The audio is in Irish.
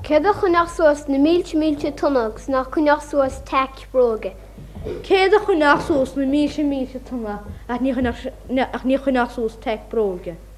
Céad a chunach suas na mílte tunnagus nach chunach suas teic bróga. Céad a chunach suas na mílte tunna ach ní chunach suas teic bróga.